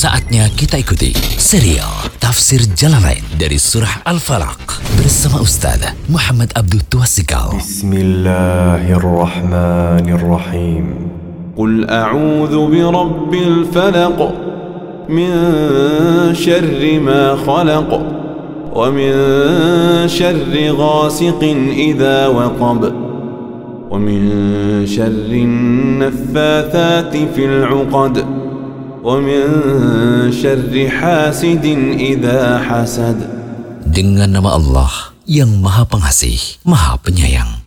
Saatnya kita ikuti serial Tafsir Jalalain dari Surah Al-Falaq bersama Ustaz Muhammad Abdul Tuasikal. Bismillahirrahmanirrahim. Qul a'udzu birabbil falaq min syarri ma khalaq wa min syarri ghasiqin idza waqab wa min syarri naffathati fil 'uqad wa min syarri hasidin idza hasad. Dengan nama Allah yang Maha Pengasih, Maha Penyayang.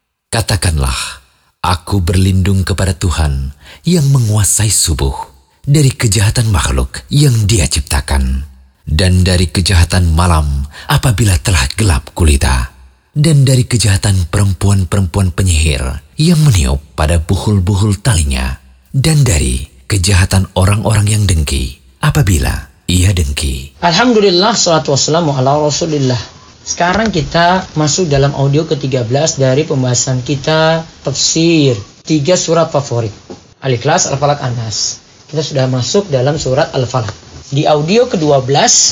Katakanlah, aku berlindung kepada Tuhan yang menguasai subuh, dari kejahatan makhluk yang Dia ciptakan, dan dari kejahatan malam apabila telah gelap gulita, dan dari kejahatan perempuan-perempuan penyihir yang meniup pada buhul-buhul talinya, dan dari kejahatan orang-orang yang dengki apabila ia dengki. Alhamdulillah, salatu wassalamu ala rasulillah. Sekarang kita masuk dalam audio ke-13 dari pembahasan kita tafsir 3 surat favorit, Al-Ikhlas, Al-Falaq, An-Nas. Kita sudah masuk dalam surat Al-Falaq. Di audio ke-12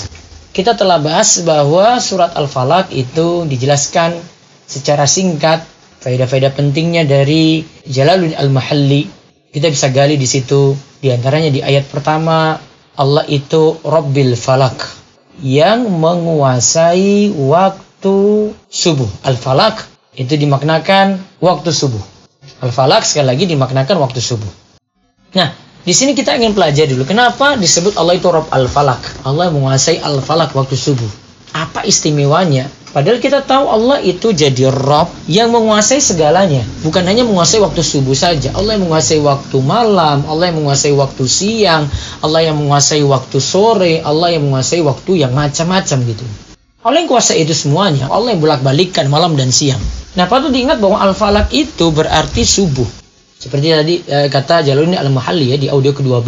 kita telah bahas bahwa surat Al-Falaq itu dijelaskan secara singkat faedah-faedah pentingnya dari Jalaluddin Al-Mahalli. Kita bisa gali di situ. Di antaranya di ayat pertama, Allah itu Rabbil Falaq, yang menguasai waktu subuh. Al-Falaq itu dimaknakan waktu subuh. Al-Falaq sekali lagi dimaknakan waktu subuh. Nah, di sini kita ingin pelajari dulu kenapa disebut Allah itu Rabb Al-Falaq. Allah yang menguasai Al-Falaq waktu subuh. Apa istimewanya? Padahal kita tahu Allah itu jadi Rabb yang menguasai segalanya. Bukan hanya menguasai waktu subuh saja. Allah yang menguasai waktu malam, Allah yang menguasai waktu siang, Allah yang menguasai waktu sore, Allah yang menguasai waktu yang macam-macam gitu. Allah yang kuasa itu semuanya. Allah yang bolak-balikkan malam dan siang. Nah, patut diingat bahwa Al-Falaq itu berarti subuh. Seperti tadi kata Jalaluddin Al-Mahalli di audio ke-12.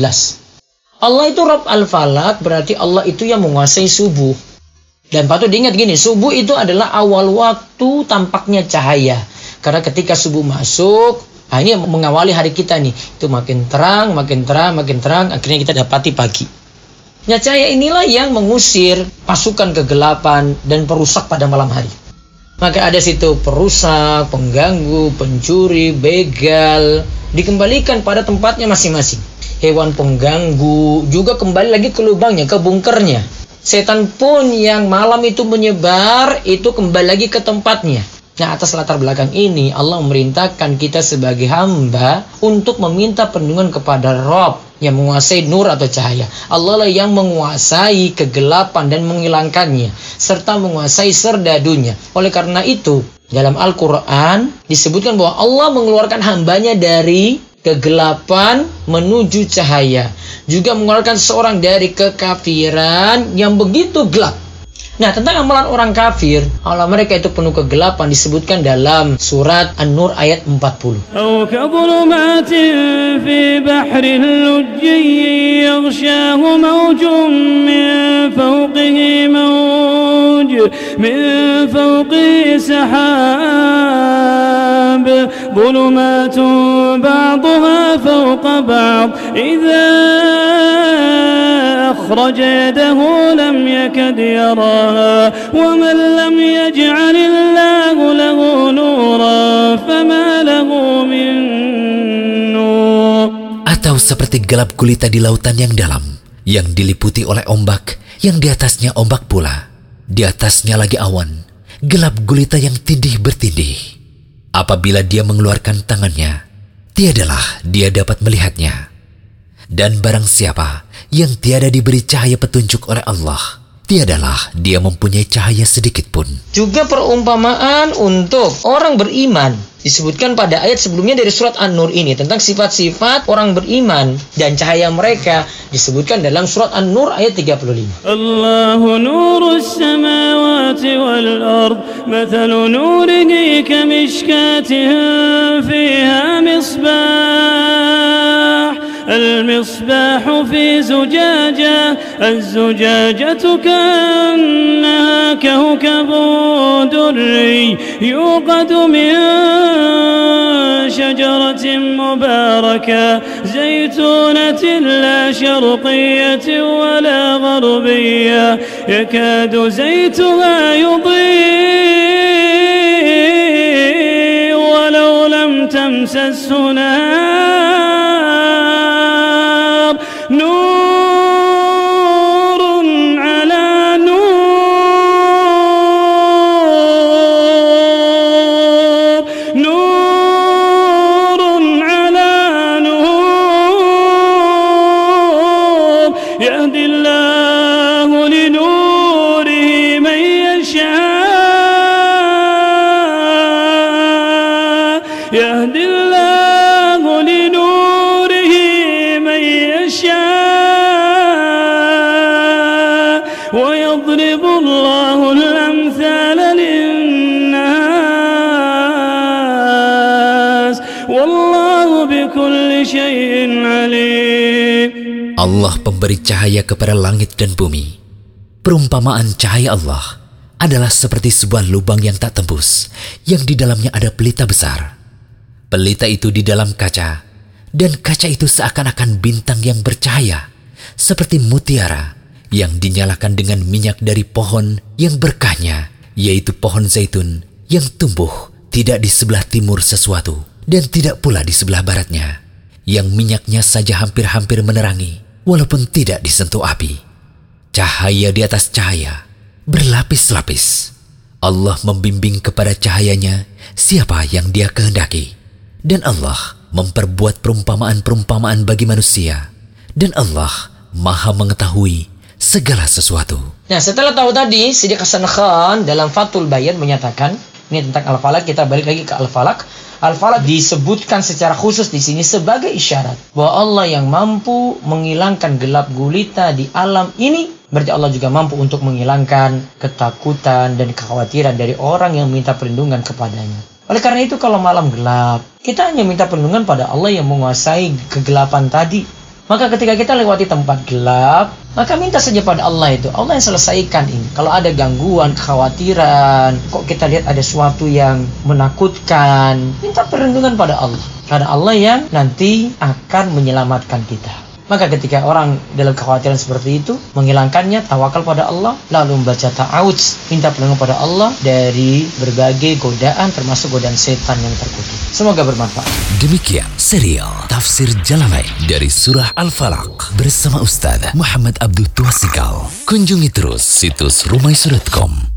Allah itu Rabb Al-Falaq berarti Allah itu yang menguasai subuh. Dan patut diingat gini, subuh itu adalah awal waktu tampaknya cahaya. Karena ketika subuh masuk, ini mengawali hari kita nih. Itu makin terang, akhirnya kita dapati pagi. Nah, cahaya inilah yang mengusir pasukan kegelapan dan perusak pada malam hari. Maka ada situ perusak, pengganggu, pencuri, begal, dikembalikan pada tempatnya masing-masing. Hewan pengganggu juga kembali lagi ke lubangnya, ke bunkernya. Setan pun yang malam itu menyebar, itu kembali lagi ke tempatnya. Nah, atas latar belakang ini, Allah memerintahkan kita sebagai hamba untuk meminta perlindungan kepada Rabb yang menguasai nur atau cahaya. Allah lah yang menguasai kegelapan dan menghilangkannya, serta menguasai serdadunya. Oleh karena itu, dalam Al-Quran disebutkan bahwa Allah mengeluarkan hambanya dari kegelapan menuju cahaya, juga mengeluarkan seorang dari kekafiran yang begitu gelap. Nah, tentang amalan orang kafir, Allah mereka itu penuh kegelapan, disebutkan dalam surat An-Nur ayat 40. ظلمات بعضها فوق بعض إذا أخرج يده لم يكد يراها ومن لم يجعل الله له نورا فما له من نور. Atau seperti gelap gulita di lautan yang dalam, yang diliputi oleh ombak, yang di atasnya ombak pula, di atasnya lagi awan, gelap gulita yang tindih bertindih. Apabila dia mengeluarkan tangannya, tiadalah dia dapat melihatnya. Dan barang siapa yang tiada diberi cahaya petunjuk oleh Allah, tiadalah dia mempunyai cahaya sedikit pun. Juga perumpamaan untuk orang beriman disebutkan pada ayat sebelumnya dari surat An-Nur ini tentang sifat-sifat orang beriman dan cahaya mereka disebutkan dalam surat An-Nur ayat 35. Allahu nurus samawati wal ard mathalu nurihi kamishkatin fiha misbah المصباح في زجاجة الزجاجة كأنها كوكب دري يوقد من شجرة مباركة زيتونة لا شرقية ولا غربية يكاد زيتها يضيء ولو لم تمسسه نار نور على نور نور على نور يهدي الله لنوره من يشاء يهدي الله لنوره من يشاء ويضرب الله الأمثال للناس والله بكل شيء عليم. Allah pemberi cahaya kepada langit dan bumi. Perumpamaan cahaya Allah adalah seperti sebuah lubang yang tak tembus, yang di dalamnya ada pelita besar. Pelita itu di dalam kaca, dan kaca itu seakan-akan bintang yang bercahaya, seperti mutiara yang dinyalakan dengan minyak dari pohon yang berkahnya, yaitu pohon zaitun yang tumbuh tidak di sebelah timur sesuatu, dan tidak pula di sebelah baratnya, yang minyaknya saja hampir-hampir menerangi, walaupun tidak disentuh api. Cahaya di atas cahaya, berlapis-lapis. Allah membimbing kepada cahayanya siapa yang Dia kehendaki. Dan Allah memperbuat perumpamaan-perumpamaan bagi manusia. Dan Allah Maha mengetahui segala sesuatu. Nah, setelah tahu tadi, Siddiq Hasan Khan dalam Fathul Bayan menyatakan, ini tentang Al-Falaq, kita balik lagi ke Al-Falaq. Al-Falaq disebutkan secara khusus di sini sebagai isyarat bahwa Allah yang mampu menghilangkan gelap gulita di alam ini, berarti Allah juga mampu untuk menghilangkan ketakutan dan kekhawatiran dari orang yang minta perlindungan kepadanya. Oleh karena itu, kalau malam gelap, kita hanya minta perlindungan pada Allah yang menguasai kegelapan tadi. Maka ketika kita lewati tempat gelap, maka minta saja pada Allah itu. Allah yang selesaikan ini. Kalau ada gangguan, kekhawatiran, kok kita lihat ada sesuatu yang menakutkan, minta perlindungan pada Allah. Karena Allah yang nanti akan menyelamatkan kita. Maka ketika orang dalam kekhawatiran seperti itu, menghilangkannya, tawakal pada Allah, lalu membaca ta'awudz, minta perlindungan pada Allah dari berbagai godaan, termasuk godaan setan yang terkutuk. Semoga bermanfaat. Demikian serial Tafsir Jalalain dari Surah Al-Falaq bersama Ustaz Muhammad Abdul Twasikal. Kunjungi terus situs rumaiso.com